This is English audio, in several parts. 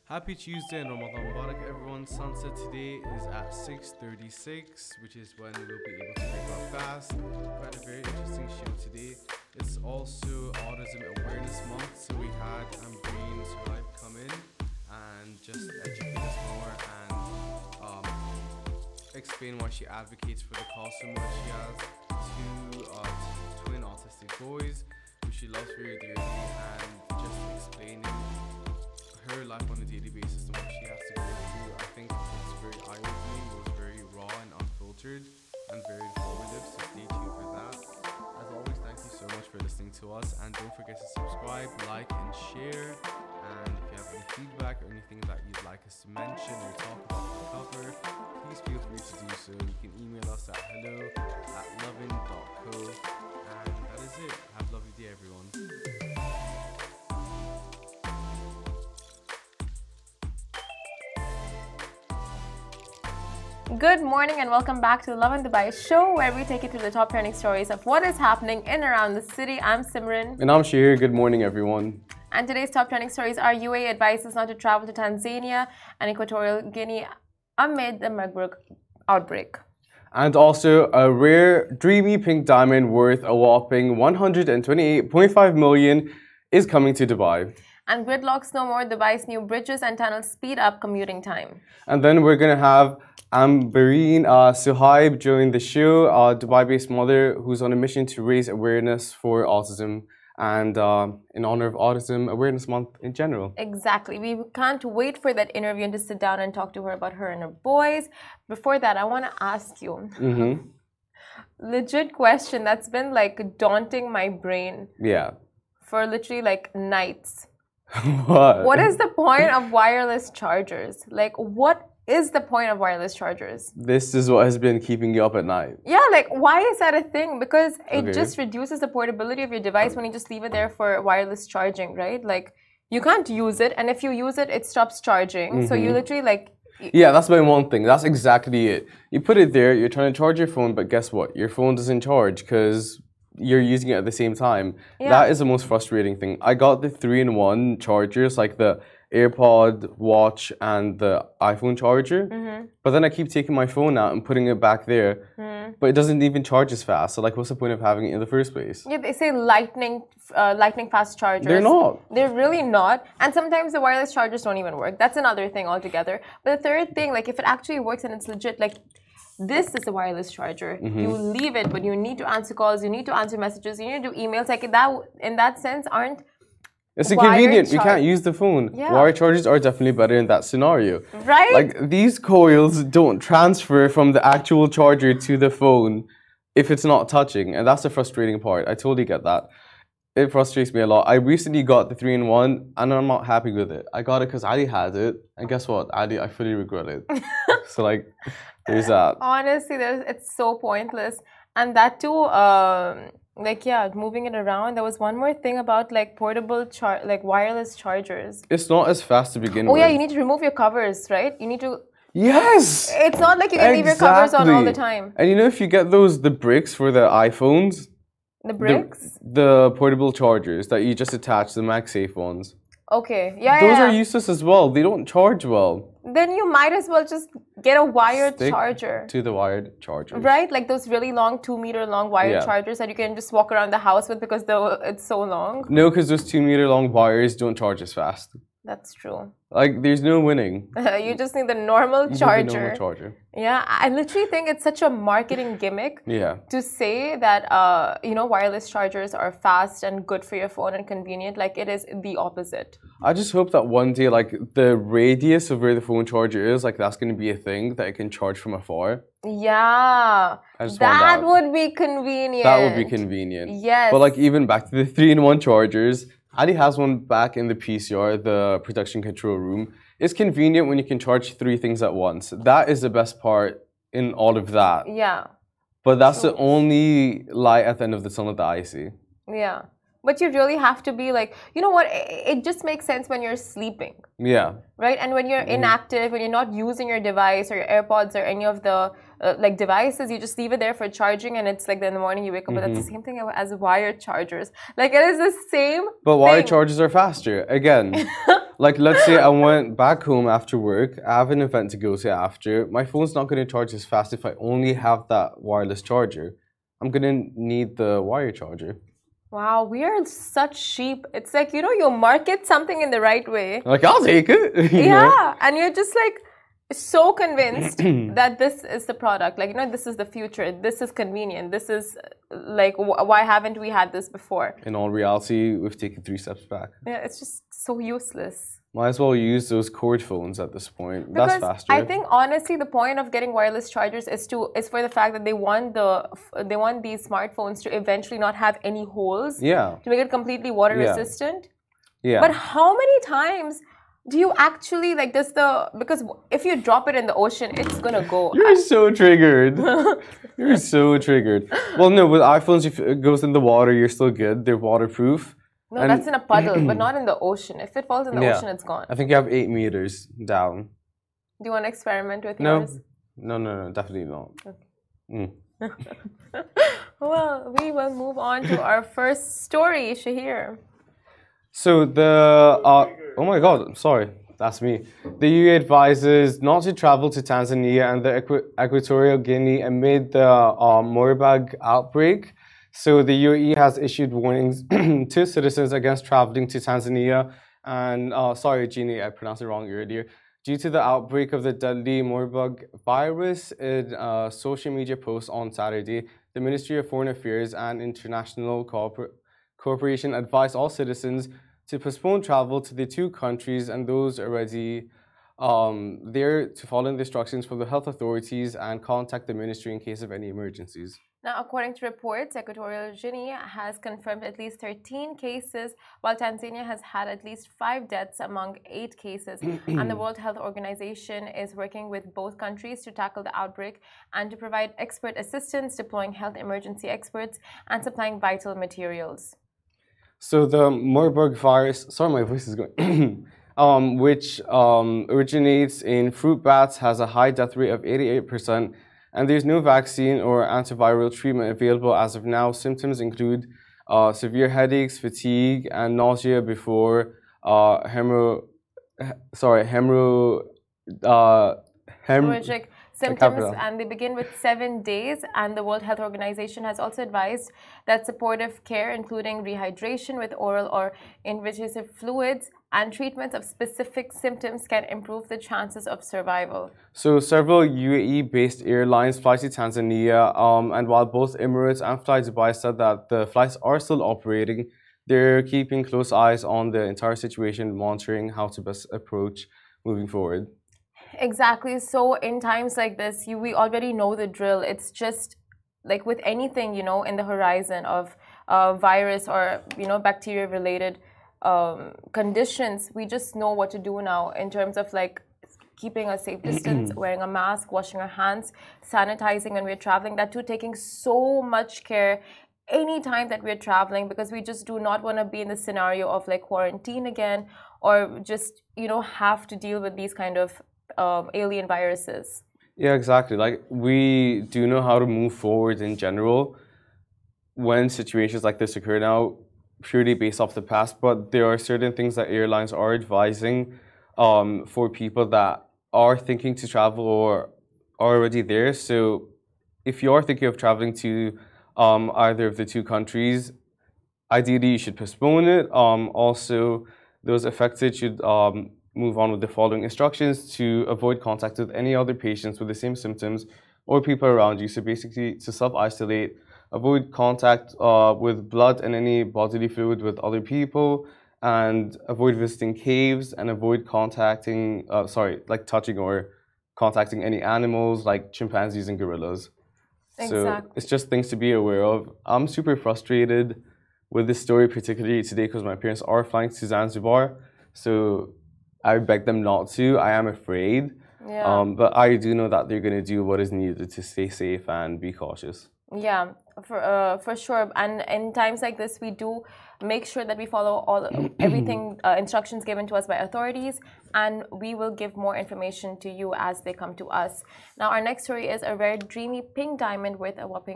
Happy Tuesday and Ramadan Mubarak everyone. Sunset today is at 6:36, which is when we'll be able to break our fast. We had a very interesting show today. It's also Autism Awareness Month, so we had Ambreen Suhaib come in and just educate us more and explain why she advocates for the cause so much. She has two twin autistic boys who she loves very dearly, and just explaining her life on a daily basis and what she has to go through. I think it's very eye-opening. It was very raw and unfiltered and very informative, so stay tuned for that. As always, thank you so much for listening to us, and don't forget to subscribe, like and share. And if you have any feedback or anything that you'd like us to mention or talk about or cover, please feel free to do so. You can email us at hello@lovin.co. And that is it. Have a lovely day, everyone. Good morning and welcome back to the Love in Dubai show, where we take you through the top trending stories of what is happening in and around the city. I'm Simran. And I'm Shahir. Good morning, everyone. And today's top trending stories are UAE advises not to travel to Tanzania and Equatorial Guinea amid the Marburg outbreak. And also, a rare, dreamy pink diamond worth a whopping 128.5 million is coming to Dubai. And gridlocks no more. Dubai's new bridges and tunnels speed up commuting time. And then we're going to have Ambreen Suhaib join the show, a Dubai-based mother who's on a mission to raise awareness for autism and in honor of Autism Awareness Month in general. Exactly. We can't wait for that interview and to sit down and talk to her about her and her boys. Before that, I want to ask you legit question that's been like daunting my brain for literally like nights. What is the point of wireless chargers? Like, what is the point of wireless chargers? This is what has been keeping you up at night. Yeah, like, why is that a thing? Because it just reduces the portability of your device when you just leave it there for wireless charging, right? Like, you can't use it, and if you use it, it stops charging. So you literally, like... Yeah, that's my one thing. That's exactly it. You put it there, you're trying to charge your phone, but guess what? Your phone doesn't charge because you're using it at the same time. Yeah. That is the most frustrating thing. I got the 3-in-1 chargers, like the AirPod, watch, and the iPhone charger. But then I keep taking my phone out and putting it back there. But it doesn't even charge as fast. So, like, what's the point of having it in the first place? Yeah, they say lightning fast chargers. They're not. They're really not. And sometimes the wireless chargers don't even work. That's another thing altogether. But the third thing, like, if it actually works and it's legit, like, this is a wireless charger. You leave it, but you need to answer calls, you need to answer messages, you need to do emails. Like, that, in that sense, aren't it's inconvenient. You can't use the phone. Yeah. Wire chargers are definitely better in that scenario. Right? Like, these coils don't transfer from the actual charger to the phone if it's not touching. And that's the frustrating part. I totally get that. It frustrates me a lot. I recently got the 3-in-1 and I'm not happy with it. I got it because Ali had it. And guess what? Ali, I fully regret it. So, like, there's that. Honestly, it's so pointless. And that too... like, yeah, moving it around. There was one more thing about like portable wireless chargers. It's not as fast to begin with. Oh yeah, you need to remove your covers, right? You need to... Yes! It's not like you can leave your covers on all the time. And you know, if you get the bricks for the iPhones... The bricks? The portable chargers that you just attach, the MagSafe ones. Okay, yeah, those are useless as well. They don't charge well. Then you might as well just get a wired charger. To the wired charger. Right? Like those really long, 2-meter long wired chargers that you can just walk around the house with because it's so long. No, because those 2-meter long wires don't charge as fast. That's true. Like, there's no winning. You just need the normal charger. Need the normal charger. Yeah, I literally think it's such a marketing gimmick to say that, you know, wireless chargers are fast and good for your phone and convenient. Like, it is the opposite. I just hope that one day, like, the radius of where the phone charger is, like, that's going to be a thing that it can charge from afar. Yeah, that would be convenient. That would be convenient. Yes. But, like, even back to the 3-in-1 chargers... Ali has one back in the PCR, the production control room. It's convenient when you can charge 3 things at once. That is the best part in all of that. Yeah. But that's the only light at the end of the tunnel that I see. Yeah. But you really have to be like, you know what? It just makes sense when you're sleeping. Yeah. Right? And when you're inactive, when you're not using your device or your AirPods or any of the like devices, you just leave it there for charging and it's like in the morning you wake up. But that's the same thing as wired chargers. Like, it is the same But wired chargers are faster. Again, Like, let's say I went back home after work, I have an event to go to after. My phone's not going to charge as fast if I only have that wireless charger. I'm going to need the wire charger. Wow, we are such sheep. It's like, you market something in the right way. Like, I'll take it. Yeah, and you're just like so convinced that this is the product. Like, this is the future. This is convenient. This is like, why haven't we had this before? In all reality, we've taken 3 steps back. Yeah, it's just so useless. Might as well use those cord phones at this point. Because that's faster. I think honestly, the point of getting wireless chargers is for the fact that they want these smartphones to eventually not have any holes. Yeah. To make it completely water resistant. Yeah. But how many times do you actually because if you drop it in the ocean, it's gonna go. You're so triggered. You're so triggered. Well, no, with iPhones, if it goes in the water, you're still good. They're waterproof. No, that's in a puddle, but not in the ocean. If it falls in the ocean, it's gone. I think you have 8 meters down. Do you want to experiment with yours? No, definitely not. Okay. Well, we will move on to our first story, Shahir. So oh my God, I'm sorry, that's me. The EU advises not to travel to Tanzania and the Equatorial Guinea amid the Marburg outbreak. So the UAE has issued warnings to citizens against traveling to Tanzania. And sorry, Jeannie, I pronounced it wrong earlier. Due to the outbreak of the deadly Marburg virus, in a social media post on Saturday, the Ministry of Foreign Affairs and International Cooperation advised all citizens to postpone travel to the 2 countries and those already there to follow the instructions from the health authorities and contact the ministry in case of any emergencies. Now, according to reports, Equatorial Guinea has confirmed at least 13 cases, while Tanzania has had at least 5 deaths among 8 cases. And the World Health Organization is working with both countries to tackle the outbreak and to provide expert assistance, deploying health emergency experts and supplying vital materials. So the Marburg virus, sorry, my voice is going, which originates in fruit bats, has a high death rate of 88%. And there's no vaccine or antiviral treatment available as of now. Symptoms include severe headaches, fatigue, and nausea before hemorrhagic symptoms, and they begin with 7 days. And the World Health Organization has also advised that supportive care, including rehydration with oral or invasive fluids and treatments of specific symptoms, can improve the chances of survival. So several UAE-based airlines fly to Tanzania, and while both Emirates and Fly Dubai said that the flights are still operating, they're keeping close eyes on the entire situation, monitoring how to best approach moving forward. Exactly. So in times like this, we already know the drill. It's just like with anything, in the horizon of virus or, bacteria-related conditions, we just know what to do now in terms of like keeping a safe distance, wearing a mask, washing our hands, sanitizing when we're traveling. That too, taking so much care any time that we're traveling, because we just do not want to be in the scenario of like quarantine again, or just have to deal with these kind of alien viruses. Yeah, exactly. Like, we do know how to move forward in general when situations like this occur now, purely based off the past, but there are certain things that airlines are advising for people that are thinking to travel or are already there. So if you are thinking of traveling to either of the 2 countries, ideally you should postpone it. Also, those affected should move on with the following instructions to avoid contact with any other patients with the same symptoms or people around you. So basically, to self-isolate, avoid contact with blood and any bodily fluid with other people, and avoid visiting caves, and avoid touching or contacting any animals like chimpanzees and gorillas. Exactly. So it's just things to be aware of. I'm super frustrated with this story, particularly today, because my parents are flying to Zanzibar. So I beg them not to. I am afraid. Yeah. But I do know that they're going to do what is needed to stay safe and be cautious. Yeah, for sure. And in times like this, we do make sure that we follow everything instructions given to us by authorities, and we will give more information to you as they come to us. Now, our next story is a rare, dreamy pink diamond worth a whopping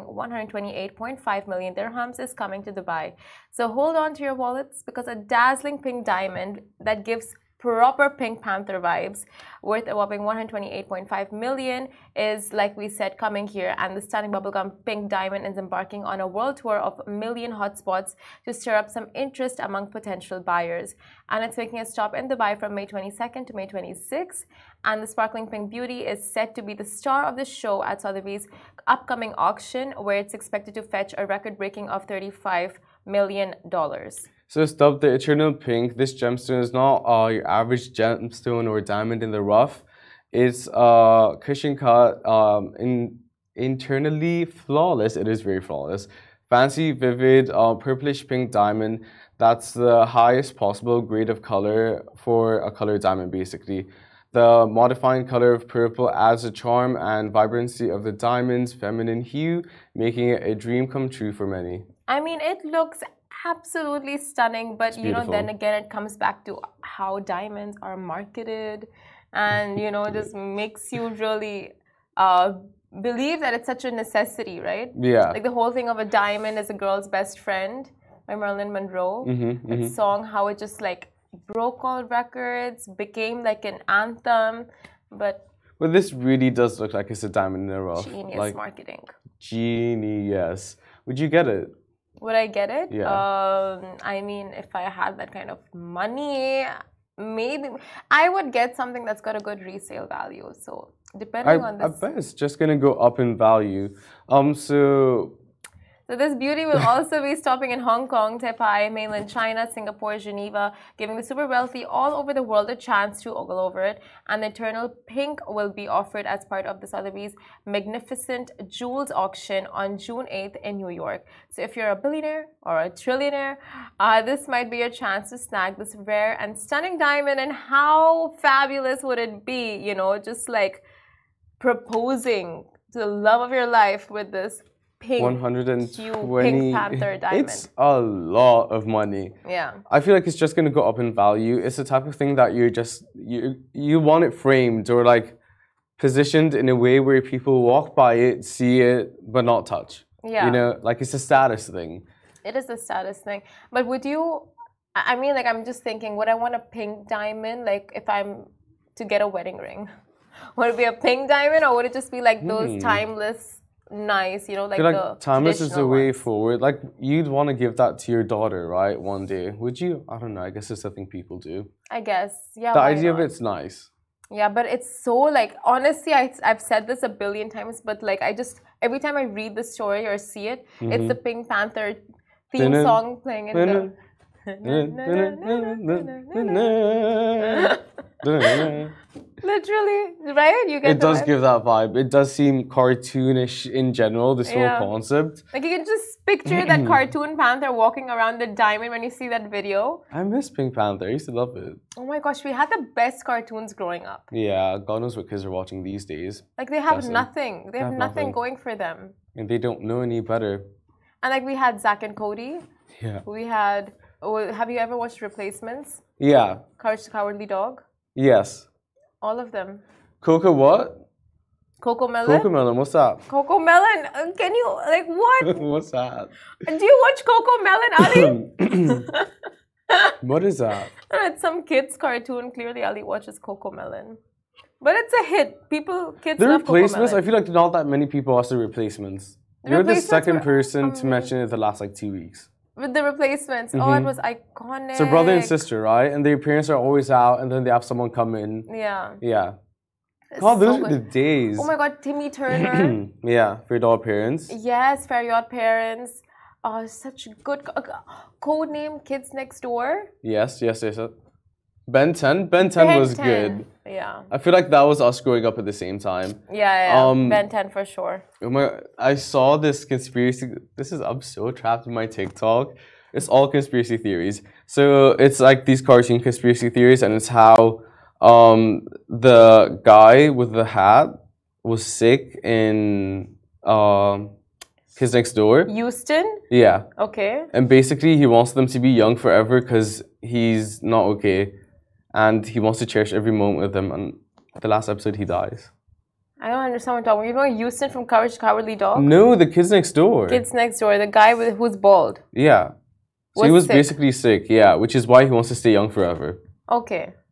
128.5 million dirhams is coming to Dubai. So hold on to your wallets, because a dazzling pink diamond that gives proper Pink Panther vibes, worth a whopping 128.5 million, is, like we said, coming here. And the stunning bubblegum pink diamond is embarking on a world tour of a million hotspots to stir up some interest among potential buyers. And it's making a stop in Dubai from May 22nd to May 26th. And the sparkling pink beauty is set to be the star of the show at Sotheby's upcoming auction, where it's expected to fetch a record-breaking of $35 million. So it's dubbed the Eternal Pink. This gemstone is not your average gemstone or diamond in the rough. It's cushion cut, internally flawless. It is very flawless. Fancy, vivid, purplish pink diamond. That's the highest possible grade of color for a colored diamond, basically. The modifying color of purple adds the charm and vibrancy of the diamond's feminine hue, making it a dream come true for many. I mean, it looks absolutely stunning, but you know, then again, it comes back to how diamonds are marketed, and you know, just makes you really believe that it's such a necessity, right? Yeah. Like the whole thing of a diamond is a girl's best friend by Marilyn Monroe. That song, how it just like broke all records, became like an anthem, but this really does look like it's a diamond in the rough. Genius like, marketing. Genius. Would you get it? Would I get it? Yeah. I mean, if I had that kind of money, maybe I would get something that's got a good resale value. So depending on this, I bet it's just gonna go up in value. So this beauty will also be stopping in Hong Kong, Taipei, mainland China, Singapore, Geneva, giving the super wealthy all over the world a chance to ogle over it. And the Eternal Pink will be offered as part of the Sotheby's Magnificent Jewels auction on June 8th in New York. So if you're a billionaire or a trillionaire, this might be your chance to snag this rare and stunning diamond. And how fabulous would it be, you know, just like proposing to the love of your life with this pink, 120 Pink Panther diamond. It's a lot of money. Yeah. I feel like it's just gonna go up in value. It's the type of thing that you want it framed or like positioned in a way where people walk by it, see it, but not touch. Yeah. You know, like it's a status thing. It is a status thing. But would you, I mean, like I'm just thinking, would I want a pink diamond, like if I'm to get a wedding ring? Would it be a pink diamond, or would it just be like those timeless, nice, you know, like, I feel like the timeless is the way ones? forward. Like you'd want to give that to your daughter, right? One day, would you? I don't know. I guess it's something people do. I guess, yeah. The why idea not? of it's nice. Yeah, but it's so like, honestly, I've said this a billion times, but like I just, every time I read the story or see it, it's the Pink Panther theme song playing in the... Literally, right? You get It does vibe? give that vibe. It does seem cartoonish in general, this whole concept. Like you can just picture that cartoon panther walking around the diamond when you see that video. I miss Pink Panther. I used to love it. Oh my gosh, we had the best cartoons growing up. Yeah, God knows what kids are watching these days. Like they have Bless 'em. nothing. They have nothing nothing. going for them. And they don't know any better. And like we had Zack and Cody. Yeah. We had. Oh, have you ever watched Replacements? Yeah. Courage the Cowardly Dog. Yes. All of them. Coco what? Coco Melon. Coco Melon, what's that? Coco Melon. Can you like what? What's that? Do you watch Coco Melon, Ali? What is that? It's some kids cartoon. Clearly, Ali watches Coco Melon. But it's a hit. Kids The love Replacements, Coco I feel like not that many people watch The Replacements. The You're the Replacements second were person to mention it the last like 2 weeks. With The Replacements. Oh, it was iconic. It's a brother and sister, right? And their parents are always out and then they have someone come in. Yeah. Yeah. It's God, those so are the good. days. Oh my God, Timmy Turner. Yeah, for your parents. Yes, Fair Yacht Parents. Oh, such good code name Kids Next Door. Yes. Ben 10. Ben 10 was 10. good. Yeah. I feel like that was us growing up at the same time. Yeah. Ben 10 for sure. I saw this conspiracy. I'm so trapped in my TikTok. It's all conspiracy theories. So it's like these cartoon conspiracy theories, and it's how the guy with the hat was sick in Kids Next Door. Houston? Yeah. Okay. And basically, he wants them to be young forever because he's not okay. And he wants to cherish every moment with them. And the last episode, he dies. I don't understand what you're talking about. You know Houston from Courage the Cowardly Dog? No, the Kids Next Door. Kids Next Door, the guy who's bald. Yeah. So Was he was sick. basically sick, yeah, which is why he wants to stay young forever. Okay.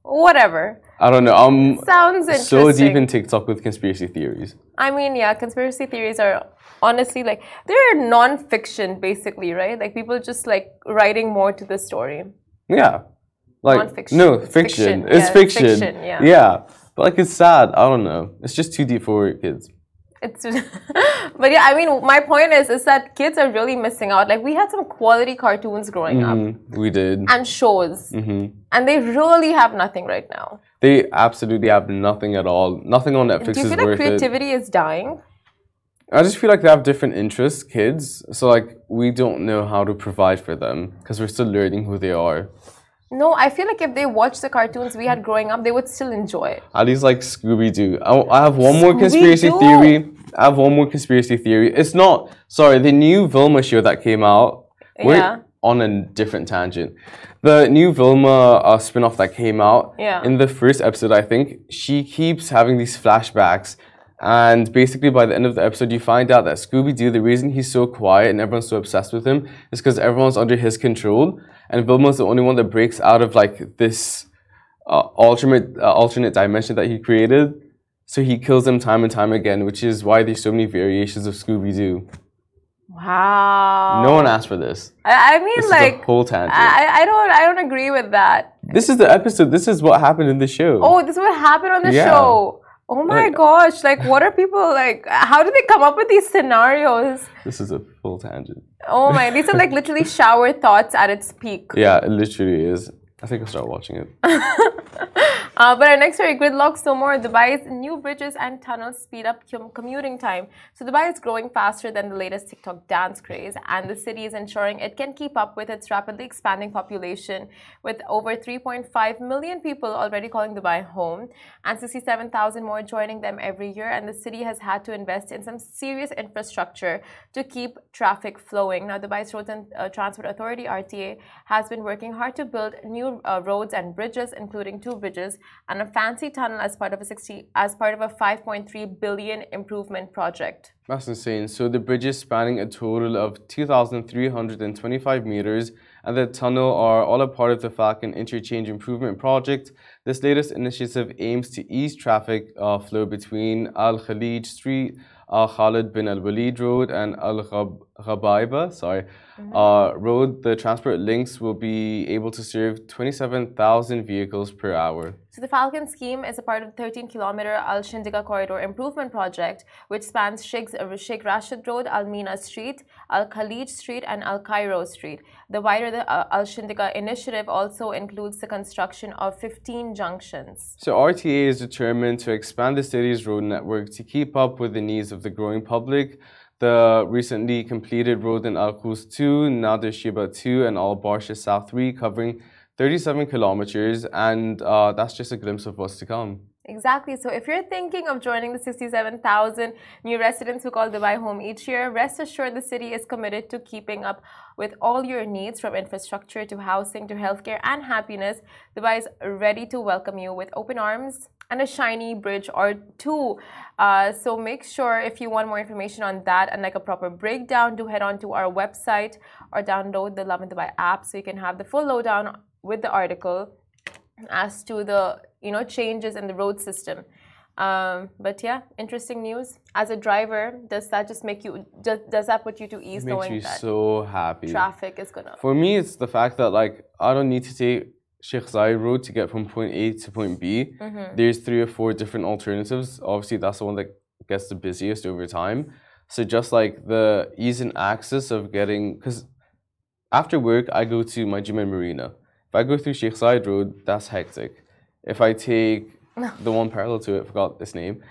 Whatever. I don't know. I'm Sounds interesting. so deep in TikTok with conspiracy theories. I mean, yeah, conspiracy theories are honestly like they're non-fiction basically, right? Like people just like writing more to the story. Yeah. Like Non-fiction. no, It's fiction. fiction. It's Yeah, fiction. fiction, yeah. Yeah. But like it's sad. I don't know. It's just too deep for kids. It's but yeah, I mean, my point is that kids are really missing out. Like we had some quality cartoons growing up We did. and shows, and they really have nothing right now. They absolutely have nothing at all. Nothing on Netflix Do you is feel like worth it. creativity is dying? I just feel like they have different interests, kids. So like we don't know how to provide for them because we're still learning who they are. No, I feel like if they watched the cartoons we had growing up, they would still enjoy it. At least like Scooby Doo. I have one more conspiracy Scooby-Doo. theory. I have one more conspiracy theory. It's not, sorry, the new Vilma show that came out. We're Yeah. on a different tangent. The new Vilma spin-off that came out. Yeah. In the first episode, I think, she keeps having these flashbacks. And basically, by the end of the episode, you find out that Scooby-Doo, the reason he's so quiet and everyone's so obsessed with him is because everyone's under his control. And Vilma's the only one that breaks out of like this alternate dimension that he created. So he kills them time and time again, which is why there's so many variations of Scooby-Doo. Wow. No one asked for this. I mean, This like is a whole tangent. I don't agree with that. This is the episode. This is what happened in the show. Oh, this is what happened on the Yeah. show. Oh my Like- gosh! Like, what are people like? How do they come up with these scenarios? This is a full tangent. Oh my! These are like literally shower thoughts at its peak. Yeah, it literally is. I think I'll start watching it. But our next story, gridlock still more. Dubai's new bridges and tunnels speed up commuting time. So Dubai is growing faster than the latest TikTok dance craze, and the city is ensuring it can keep up with its rapidly expanding population, with over 3.5 million people already calling Dubai home, and 67,000 more joining them every year. And the city has had to invest in some serious infrastructure to keep traffic flowing. Now, Dubai's Roads and Transport Authority (RTA) has been working hard to build new roads and bridges, including 2 bridges and a fancy tunnel as part of a 5.3 billion improvement project. That's insane. So the bridges spanning a total of 2,325 meters and the tunnel are all a part of the Falcon Interchange Improvement Project. This latest initiative aims to ease traffic flow between Al Khalij Street, Khalid bin Al Walid Road, and Al Ghabaiba Road. The transport links will be able to serve 27,000 vehicles per hour. So the Falcon scheme is a part of the 13-kilometer Al Shindiga Corridor Improvement Project, which spans Sheikh Rashid Road, Al Mina Street, Al Khalij Street, and Al Cairo Street. The wider Al Shindiga initiative also includes the construction of 15 junctions. So RTA is determined to expand the city's road network to keep up with the needs of the growing public. The recently completed road in Al Quds 2, Nader Shiba 2, and Al Barsha South 3, covering 37 kilometers, and that's just a glimpse of what's to come. Exactly. So if you're thinking of joining the 67,000 new residents who call Dubai home each year, rest assured the city is committed to keeping up with all your needs, from infrastructure to housing to healthcare and happiness. Dubai is ready to welcome you with open arms and a shiny bridge or 2. So make sure, if you want more information on that and like a proper breakdown, do head on to our website or download the Lovin Dubai app so you can have the full lowdown with the article as to the changes in the road system. But yeah, interesting news. As a driver, does that just make you does that put you to ease, It makes knowing me that so happy. traffic is gonna? For me, it's the fact that like I don't need to take Sheikh Zayed Road to get from point A to point B. There's 3 or 4 different alternatives. Obviously, that's the one that gets the busiest over time. So just like the ease and access of getting, because after work I go to my gym in Marina. If I go through Sheikh Zayed Road, that's hectic. If I take the one parallel to it, forgot this name,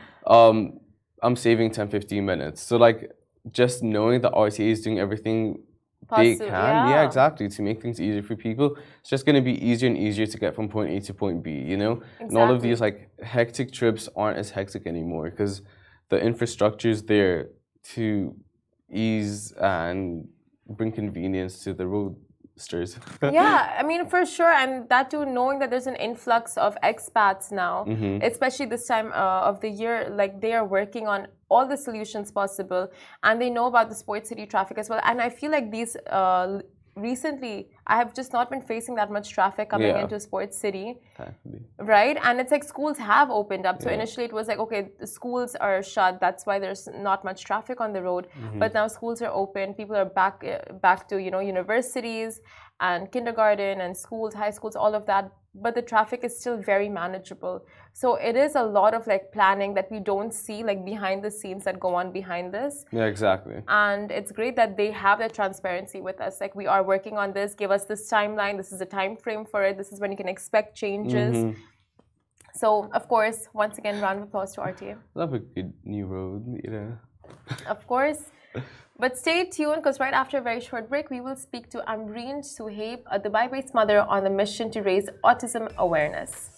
I'm saving 10-15 minutes. So like just knowing that RTA is doing everything they can, yeah, exactly, to make things easier for people. It's just going to be easier and easier to get from point A to point B, Exactly. And all of these like hectic trips aren't as hectic anymore because the infrastructure is there to ease and bring convenience to the roadsters. Yeah, I mean, for sure. And that too, knowing that there's an influx of expats now, especially this time of the year, like they are working on all the solutions possible and they know about the Sport City traffic as well. And I feel like these recently I have just not been facing that much traffic coming Yeah. into Sports City. Thankfully. Right, and it's like schools have opened up. So Yeah. initially it was like, okay, the schools are shut, that's why there's not much traffic on the road. But now schools are open, people are back to, you know, universities and kindergarten and schools, high schools, all of that. But the traffic is still very manageable. So it is a lot of like planning that we don't see, like behind the scenes that go on behind this. Yeah, exactly. And it's great that they have that transparency with us. Like, we are working on this, give us this timeline, this is the time frame for it, this is when you can expect changes. So, of course, once again, round of applause to RTA. Love a good new road, you know. Of course. But stay tuned, because right after a very short break, we will speak to Ambreen Suhaib, a Dubai-based mother on a mission to raise autism awareness.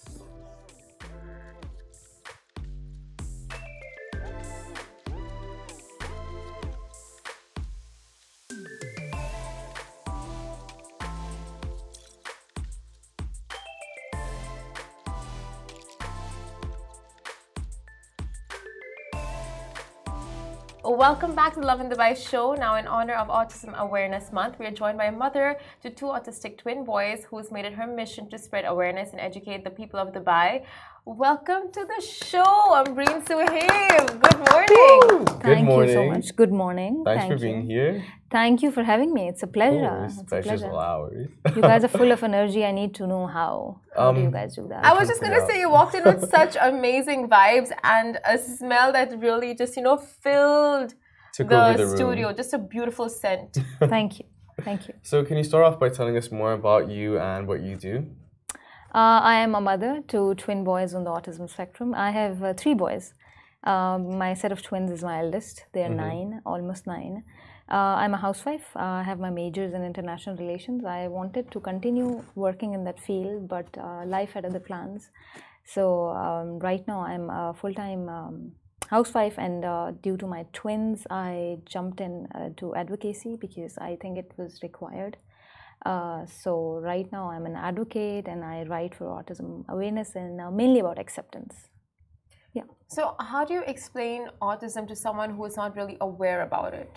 Welcome back to the Love in Dubai show. Now, in honor of Autism Awareness Month, we are joined by a mother to two autistic twin boys who's made it her mission to spread awareness and educate the people of Dubai. Welcome to the show, Ambreen Suhaib. Good morning. Good morning. Thank you so much. Good morning. Thanks Thank for being you. here. Thank you for having me. It's a pleasure. It's a Pleasure's pleasure. all ours. You guys are full of energy. I need to know how. How do you guys do that? I was just going to say, you walked in with such amazing vibes and a smell that really just, you know, filled Took over the the room. studio. Just a beautiful scent. Thank you. Thank you. So can you start off by telling us more about you and what you do? I am a mother to twin boys on the autism spectrum. I have 3 boys. My set of twins is my eldest. They're 9, almost 9. I'm a housewife. I have my majors in international relations. I wanted to continue working in that field, but life had other plans. So right now I'm a full-time housewife, and due to my twins, I jumped in to advocacy because I think it was required. So right now I'm an advocate and I write for autism awareness and mainly about acceptance. Yeah. So, how do you explain autism to someone who is not really aware about it?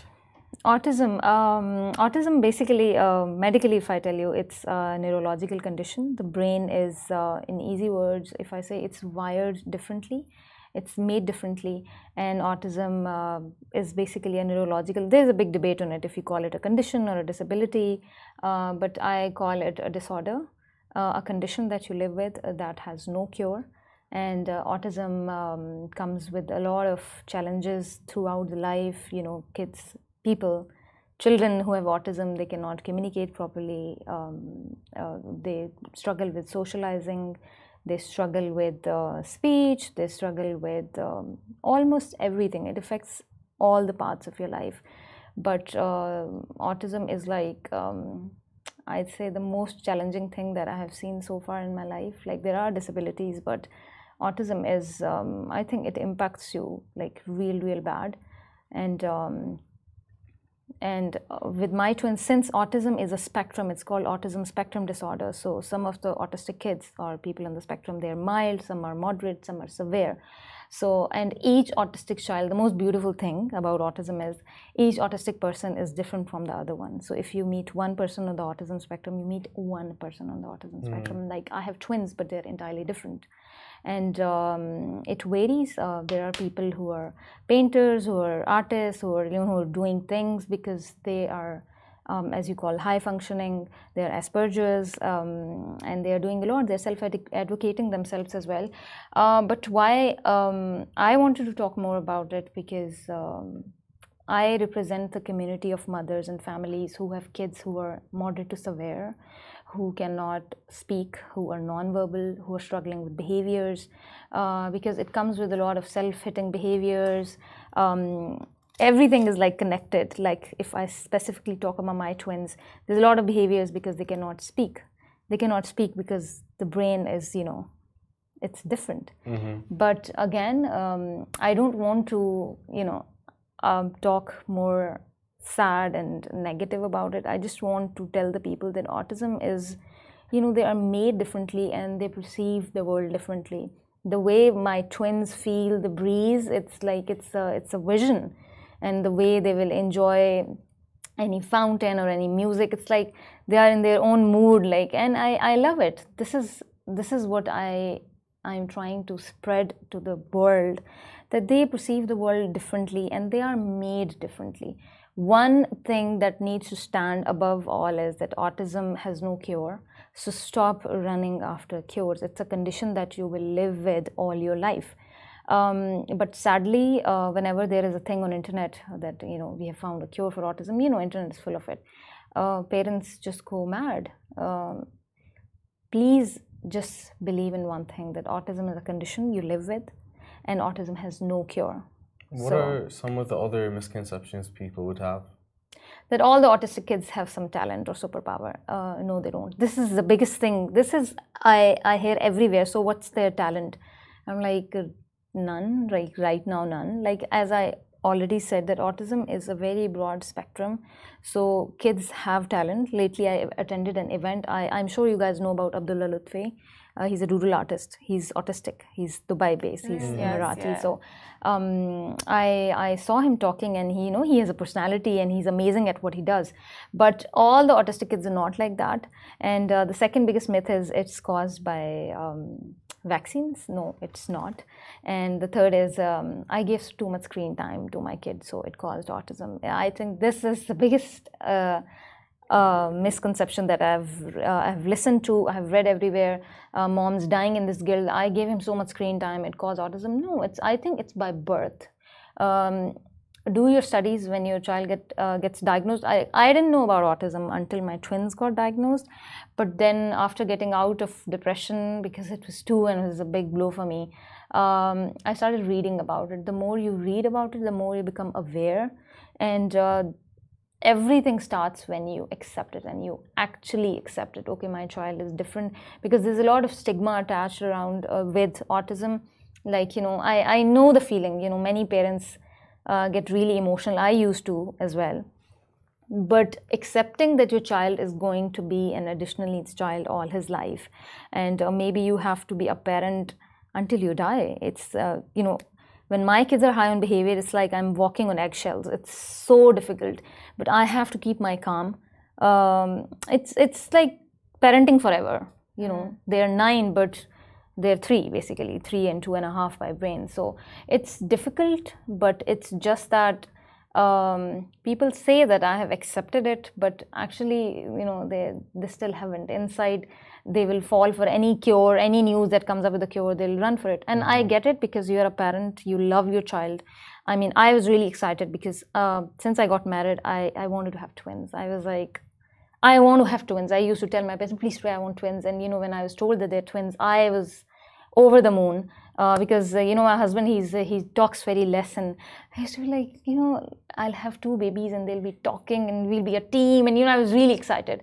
Autism basically, medically, if I tell you, it's a neurological condition. The brain is, in easy words, if I say, it's wired differently. It's made differently, and autism is basically a neurological. There's a big debate on it if you call it a condition or a disability, but I call it a disorder, a condition that you live with that has no cure. And autism comes with a lot of challenges throughout the life. You know, children who have autism, they cannot communicate properly. They struggle with socializing. They struggle with speech, they struggle with almost everything. It affects all the parts of your life. But autism is like, I'd say, the most challenging thing that I have seen so far in my life. Like, there are disabilities, but autism is, I think it impacts you like real bad. And with my twins, since autism is a spectrum, it's called autism spectrum disorder. So some of the autistic kids or people on the spectrum, they're mild, some are moderate, some are severe. So, and each autistic child, the most beautiful thing about autism is each autistic person is different from the other one. So if you meet one person on the autism spectrum, you meet one person on the autism spectrum. Like, I have twins, but they're entirely different. And it varies. There are people who are painters, who are artists, who are, who are doing things because they are, as you call, high functioning. They're Asperger's, and they are doing a lot. They're self-advocating themselves as well. But why I wanted to talk more about it, because I represent the community of mothers and families who have kids who are moderate to severe, who cannot speak, who are nonverbal, who are struggling with behaviors, because it comes with a lot of self-hitting behaviors. Everything is like connected. Like, if I specifically talk about my twins, there's a lot of behaviors because they cannot speak. They cannot speak because the brain is, it's different. But again, I don't want to, talk more sad and negative about it. I just want to tell the people that autism is, they are made differently and they perceive the world differently. The way my twins feel the breeze, it's like it's a vision, and the way they will enjoy any fountain or any music. It's like they are in their own mood, like, and I love it. This is what I'm trying to spread to the world, that they perceive the world differently and they are made differently. One thing that needs to stand above all is that autism has no cure. So stop running after cures. It's a condition that you will live with all your life. But sadly, whenever there is a thing on internet that, we have found a cure for autism, internet is full of it. Parents just go mad. Please just believe in one thing, that autism is a condition you live with and autism has no cure. What are some of the other misconceptions people would have? That all the autistic kids have some talent or superpower. No, they don't. This is the biggest thing. This is, I hear everywhere. So what's their talent? I'm like, none, like right now, none. Like, as I already said, that autism is a very broad spectrum. So kids have talent. Lately, I attended an event. I'm sure you guys know about Abdullah Lutfi. He's a doodle artist. He's autistic. He's Dubai based. He's Emirati. Yeah. So I saw him talking, and he has a personality and he's amazing at what he does. But all the autistic kids are not like that. And the second biggest myth is it's caused by vaccines. No, it's not. And the third is I gave too much screen time to my kids, so it caused autism. I think this is the biggest misconception that I've listened to, I've read everywhere. Moms dying in this guilt. I gave him so much screen time, it caused autism. No, I think it's by birth. Do your studies when your child gets diagnosed. I didn't know about autism until my twins got diagnosed. But then after getting out of depression, because it was 2 and it was a big blow for me, I started reading about it. The more you read about it, the more you become aware. And everything starts when you accept it and you actually accept it. Okay, my child is different, because there's a lot of stigma attached around with autism. Like, I know the feeling, many parents get really emotional. I used to as well. But accepting that your child is going to be an additional needs child all his life, and maybe you have to be a parent until you die. It's, when my kids are high on behavior, it's like I'm walking on eggshells. It's so difficult, but I have to keep my calm. It's like parenting forever. They're 9, but they're 3, basically 3 and 2.5 by brain. So it's difficult, but it's just that people say that I have accepted it, but actually, they still haven't. Inside, they will fall for any cure, any news that comes up with a cure, they'll run for it. And I get it, because you're a parent, you love your child. I mean, I was really excited because since I got married, I wanted to have twins. I was like, I want to have twins. I used to tell my parents, please pray, I want twins. And when I was told that they're twins, I was over the moon. Because my husband, he talks very less, and I used to be like, I'll have 2 babies and they'll be talking and we'll be a team, and I was really excited.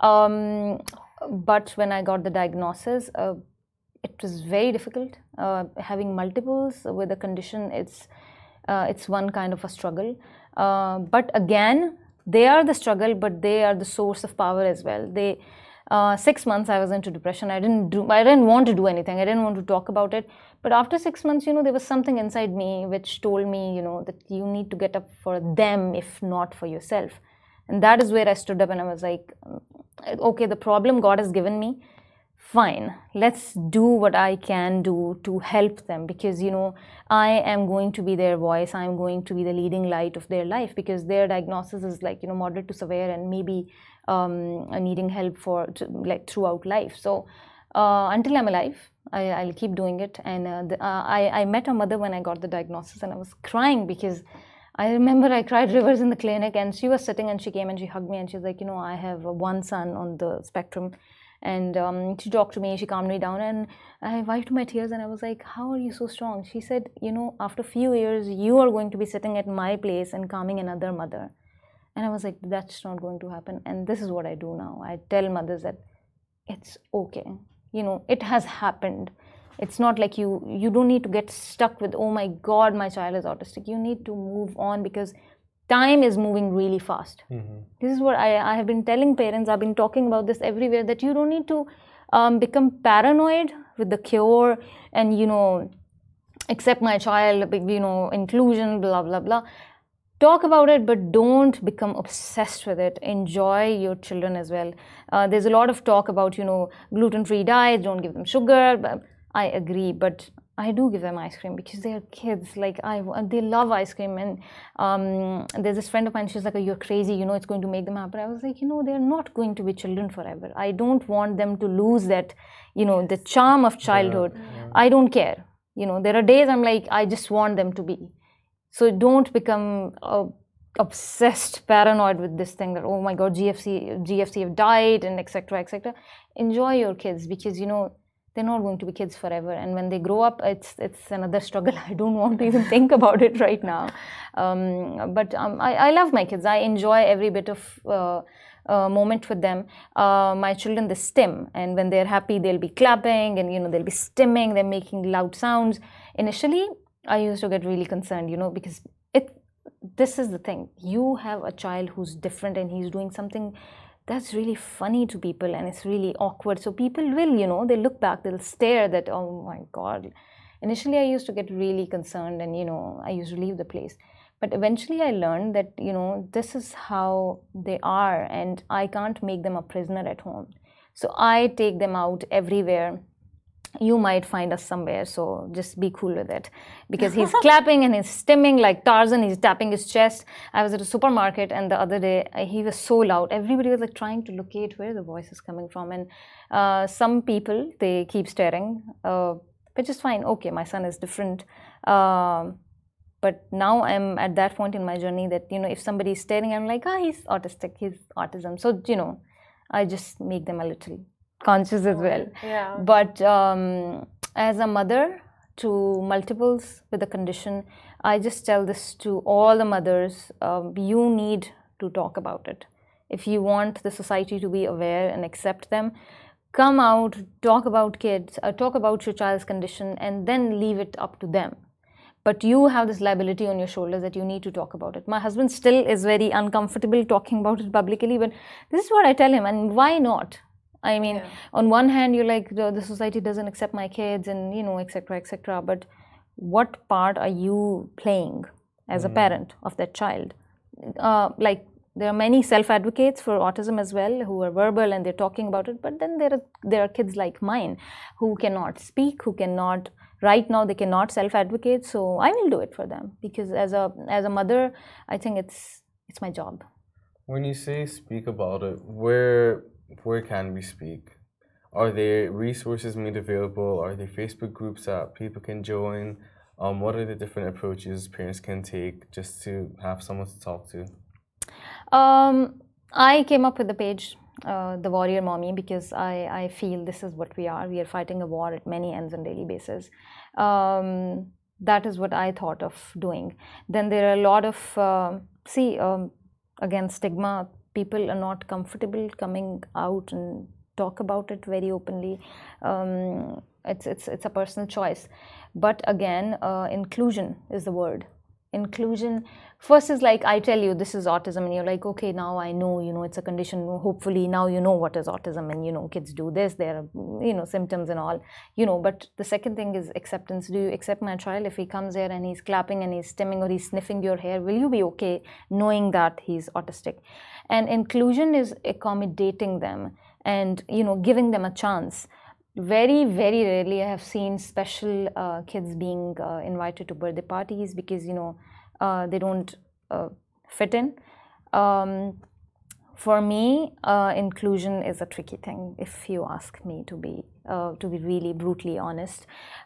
But when I got the diagnosis, it was very difficult. Having multiples with a condition, it's one kind of a struggle. But again, they are the struggle, but they are the source of power as well. 6 months I was into depression. I didn't want to do anything. I didn't want to talk about it. But after 6 months, there was something inside me which told me, that you need to get up for them, if not for yourself. And that is where I stood up and I was like, okay, the problem God has given me, fine, let's do what I can do to help them, because I am going to be their voice. I am going to be the leading light of their life, because their diagnosis is like moderate to severe and maybe needing help throughout life. So until I'm alive, I'll keep doing it. And I met a mother when I got the diagnosis, and I was crying because I remember I cried rivers in the clinic, and she was sitting and she came and she hugged me and she was like, I have one son on the spectrum. And she talked to me, she calmed me down, and I wiped my tears and I was like, how are you so strong? She said, after a few years, you are going to be sitting at my place and calming another mother. And I was like, that's not going to happen. And this is what I do now. I tell mothers that it's okay. It has happened. It's not like you don't need to get stuck with, oh my God, my child is autistic. You need to move on, because time is moving really fast. This is what I have been telling parents. I've been talking about this everywhere, that you don't need to become paranoid with the cure and, accept my child, inclusion, blah, blah, blah. talk about it, but don't become obsessed with it. Enjoy your children as well. There's a lot of talk about, gluten-free diets, don't give them sugar. But I agree, but I do give them ice cream because they're kids. Like they love ice cream. And there's this friend of mine, she's like, oh, you're crazy, it's going to make them happy. I was like, they're not going to be children forever. I don't want them to lose that, the charm of childhood. Yeah. I don't care. There are days I'm like, I just want them to be. So don't become obsessed, paranoid with this thing that, oh my God, GFC have died and etc. etc. Enjoy your kids because, they're not going to be kids forever. And when they grow up, it's another struggle. I don't want to even think about it right now. But I love my kids. I enjoy every bit of moment with them. My children, they stim. And when they're happy, they'll be clapping and, they'll be stimming. They're making loud sounds. Initially, I used to get really concerned, because this is the thing. You have a child who's different and he's doing something that's really funny to people and it's really awkward. So people will, they look back, they'll stare that, oh my God. Initially, I used to get really concerned and, I used to leave the place. But eventually I learned that, this is how they are and I can't make them a prisoner at home. So I take them out everywhere. You might find us somewhere, so just be cool with it. Because he's clapping and he's stimming like Tarzan, he's tapping his chest. I was at a supermarket and the other day, he was so loud. Everybody was like trying to locate where the voice is coming from. And some people, they keep staring, which is fine. Okay, my son is different. But now I'm at that point in my journey that, if somebody is staring, I'm like, he's autistic, he's autism. So, I just make them a little conscious as well. Yeah. But as a mother to multiples with a condition, I just tell this to all the mothers, you need to talk about it. If you want the society to be aware and accept them, come out, talk about kids, talk about your child's condition, and then leave it up to them. But you have this liability on your shoulders that you need to talk about it. My husband still is very uncomfortable talking about it publicly, but this is what I tell him, and why not? I mean, on one hand, you're like, the society doesn't accept my kids and, etc., etc. But what part are you playing as a parent of that child? Like, there are many self-advocates for autism as well who are verbal and they're talking about it. But then there are kids like mine who cannot speak, who cannot, right now, they cannot self-advocate. So I will do it for them because as a mother, I think it's my job. When you say speak about it, where can we speak? Are there resources made available? Are there Facebook groups that people can join? What are the different approaches parents can take just to have someone to talk to? I came up with the page, The Warrior Mommy, because I feel this is what we are. We are fighting a war at many ends on a daily basis. That is what I thought of doing. Then there are a lot of, again, stigma. People are not comfortable coming out and talk about it very openly. It's a personal choice. But again, inclusion is the word. Inclusion, first is like, I tell you this is autism and you're like, okay, now I know, it's a condition. Hopefully now you know what is autism and, kids do this, there are, symptoms and all, but the second thing is acceptance. Do you accept my child? If he comes here and he's clapping and he's stimming or he's sniffing your hair, will you be okay knowing that he's autistic? And inclusion is accommodating them and, giving them a chance. Very, very rarely I have seen special kids being invited to birthday parties because, they don't fit in. For me, inclusion is a tricky thing, if you ask me to be really brutally honest.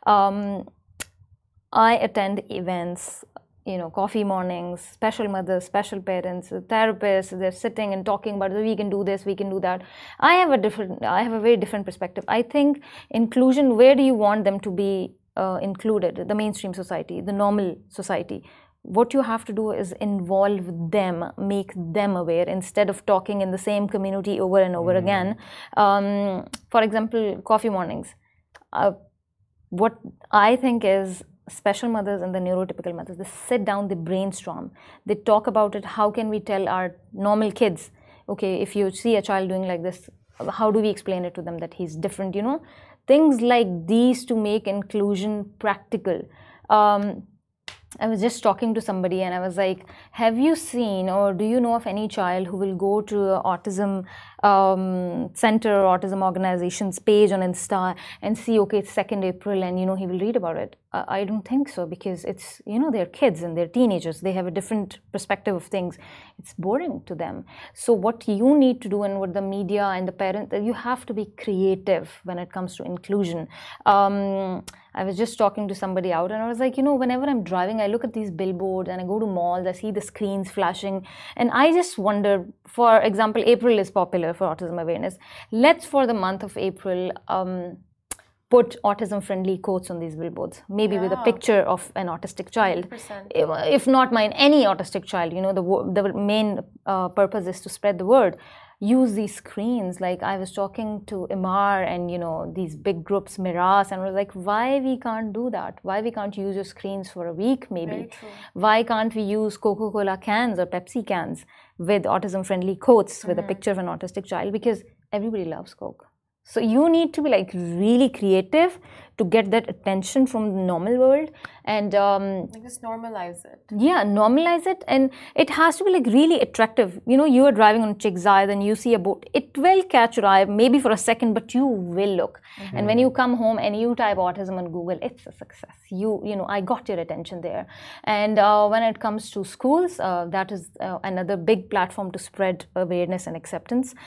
I attend events, coffee mornings, special mothers, special parents, therapists, they're sitting and talking about, we can do this, we can do that. I have a very different perspective. I think inclusion, where do you want them to be included? The mainstream society, the normal society. What you have to do is involve them, make them aware instead of talking in the same community over and over again. For example, coffee mornings. What I think is special mothers and the neurotypical mothers, they sit down, they brainstorm, they talk about it. How can we tell our normal kids, okay, if you see a child doing like this, how do we explain it to them that he's different, Things like these to make inclusion practical. I was just talking to somebody and I was like, have you seen or do you know of any child who will go to a autism center or autism organization's page on Insta and see, okay, it's 2nd April and, he will read about it? I don't think so, because it's, they're kids and they're teenagers. They have a different perspective of things. It's boring to them. So what you need to do, and what the media and the parents, you have to be creative when it comes to inclusion. I was just talking to somebody out and I was like, whenever I'm driving, I look at these billboards and I go to malls, I see the screens flashing, and I just wonder, for example, April is popular for autism awareness. Let's, for the month of April, put autism-friendly quotes on these billboards, maybe with a picture of an autistic child. 100%. If not mine, any autistic child. The main purpose is to spread the word. Use these screens. Like, I was talking to Imar and these big groups, Miras, and I was like, why we can't do that? Why we can't use your screens for a week maybe? Very true. Why can't we use Coca-Cola cans or Pepsi cans with autism-friendly quotes with a picture of an autistic child? Because everybody loves Coke. So you need to be like really creative to get that attention from the normal world, and just normalize it. Yeah, normalize it, and it has to be like really attractive. You are driving on Chigzai, then you see a boat. It will catch your eye maybe for a second, but you will look. And when you come home and you type autism on Google, it's a success. I got your attention there. And when it comes to schools, that is another big platform to spread awareness and acceptance.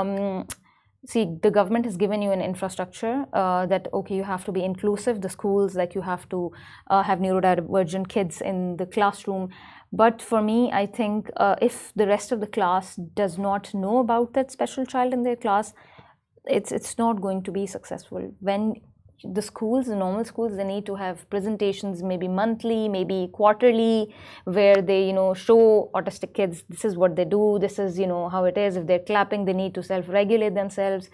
See, the government has given you an infrastructure that, okay, you have to be inclusive. The schools, like, you have to have neurodivergent kids in the classroom. But for me, I think if the rest of the class does not know about that special child in their class, it's not going to be successful. When the schools, the normal schools, they need to have presentations, maybe monthly, maybe quarterly, where they, show autistic kids, this is what they do, this is, how it is. If they're clapping, they need to self-regulate themselves.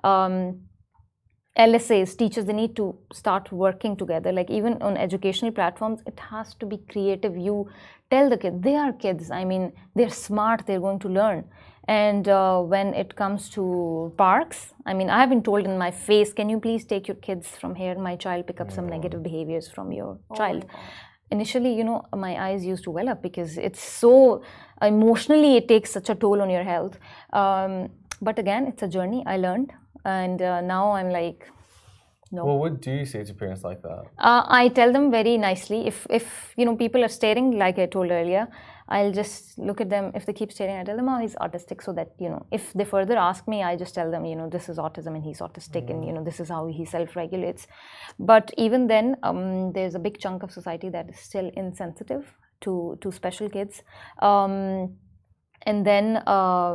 LSAs, teachers, they need to start working together. Like, even on educational platforms, it has to be creative. You tell the kids, they are kids. I mean, they're smart, they're going to learn. And when it comes to parks, I mean, I have been told in my face, can you please take your kids from here? My child pick up some negative behaviors from your child. Initially, my eyes used to well up, because it's so emotionally, it takes such a toll on your health. But again, it's a journey. I learned. And now I'm like, no. Well, what do you say to parents like that? I tell them very nicely. If people are staring, like I told earlier, I'll just look at them. If they keep staring, I tell them, oh, he's autistic. So that, if they further ask me, I just tell them, this is autism and he's autistic, and, this is how he self-regulates. But even then, there's a big chunk of society that is still insensitive to special kids. And then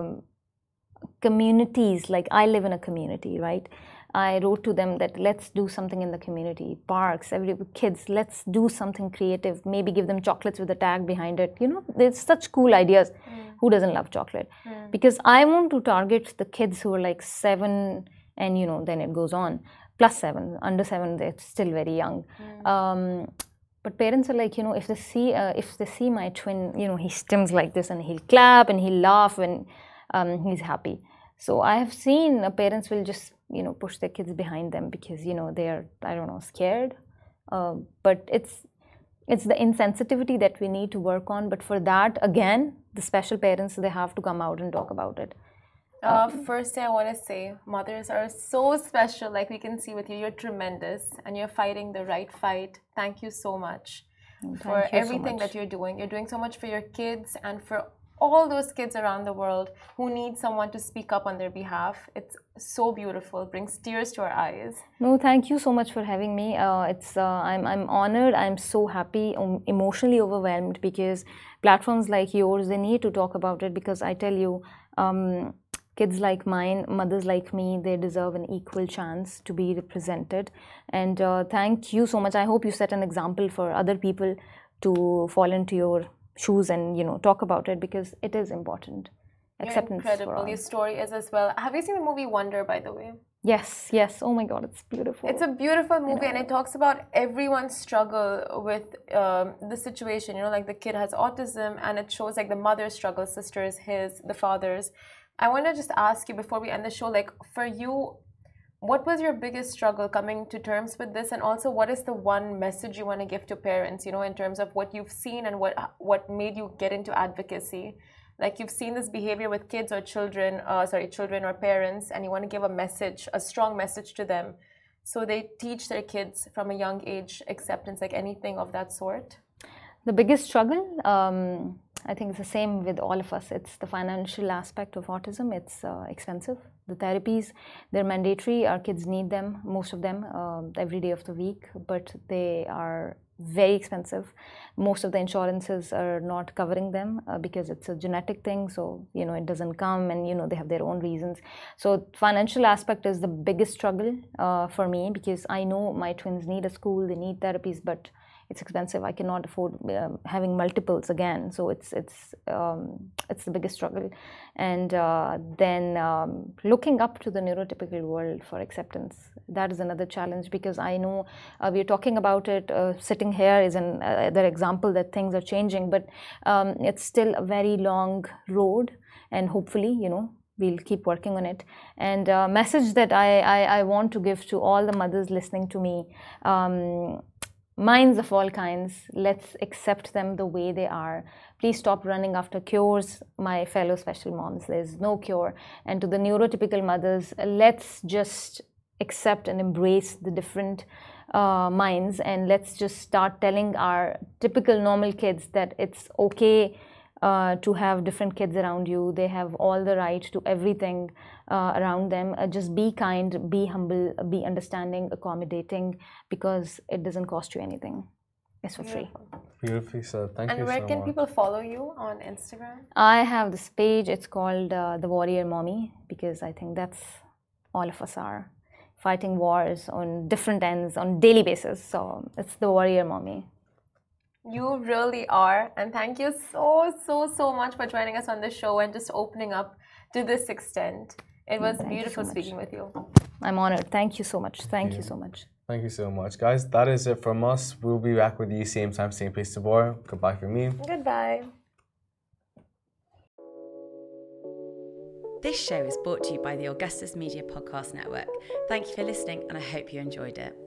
communities, like, I live in a community, right? I wrote to them that let's do something in the community, parks, kids, let's do something creative, maybe give them chocolates with a tag behind it. There's such cool ideas. Who doesn't love chocolate? Because I want to target the kids who are like 7 and, then it goes on, +7, under 7, they're still very young. But parents are like, if they see my twin, he stims like this and he'll clap and he'll laugh when he's happy. So I have seen parents will just, push their kids behind them because, they're, I don't know, scared. But it's the insensitivity that we need to work on. But for that, again, the special parents, they have to come out and talk about it. First thing I want to say, mothers are so special. Like, we can see with you, you're tremendous and you're fighting the right fight. Thank you so much for everything that you're doing. You're doing so much for your kids and for all those kids around the world who need someone to speak up on their behalf. It's so beautiful. It brings tears to our eyes. No, thank you so much for having me. I'm honored. I'm so happy, emotionally overwhelmed, because platforms like yours, they need to talk about it. Because I tell you, kids like mine, mothers like me, they deserve an equal chance to be represented. And thank you so much. I hope you set an example for other people to fall into your shoes and talk about it, because it is important. Acceptance. You're incredible. Your story is as well. Have you seen the movie Wonder, by the way? Yes. Oh my God, it's beautiful. It's a beautiful movie, and it talks about everyone's struggle with the situation. Like, the kid has autism, and it shows like the mother's struggle, sisters, the father's. I want to just ask you before we end the show, like, for you, what was your biggest struggle coming to terms with this? And also, what is the one message you want to give to parents, you know, in terms of what you've seen and what made you get into advocacy? Like you've seen this behavior with kids or children or parents, and you want to give a message, a strong message to them, so they teach their kids from a young age acceptance, like anything of that sort. The biggest struggle, I think it's the same with all of us. It's the financial aspect of autism. It's expensive. The therapies, they're mandatory. Our kids need them, most of them, every day of the week, but they are very expensive. Most of the insurances are not covering them because it's a genetic thing, so you know it doesn't come, and you know they have their own reasons. So financial aspect is the biggest struggle for me, because I know my twins need a school, they need therapies, but it's expensive. I cannot afford having multiples again. So it's the biggest struggle. And then looking up to the neurotypical world for acceptance, that is another challenge, because I know we're talking about it. Sitting here is another example that things are changing, but it's still a very long road, and hopefully, you know, we'll keep working on it. And a message that I want to give to all the mothers listening to me, minds of all kinds, let's accept them the way they are. Please stop running after cures, my fellow special moms. There's no cure. And to the neurotypical mothers, let's just accept and embrace the different minds, and let's just start telling our typical normal kids that it's okay to have different kids around you. They have all the right to everything around them. Just be kind, be humble, be understanding, accommodating, because it doesn't cost you anything. It's for free. Beautifully said. Thank you so much. And where can people follow you on Instagram? I have this page. It's called The Warrior Mommy, because I think that's all of us are fighting wars on different ends on daily basis. So it's The Warrior Mommy. You really are, and thank you so much for joining us on the show and just opening up to this extent. It was beautiful speaking with you. I'm honored. Thank you so much. Thank you so much. Thank you so much, guys. That is it from us. We'll be back with you same time, same place tomorrow. Goodbye from me. Goodbye. This show is brought to you by the Augustus Media Podcast Network. Thank you for listening, and I hope you enjoyed it.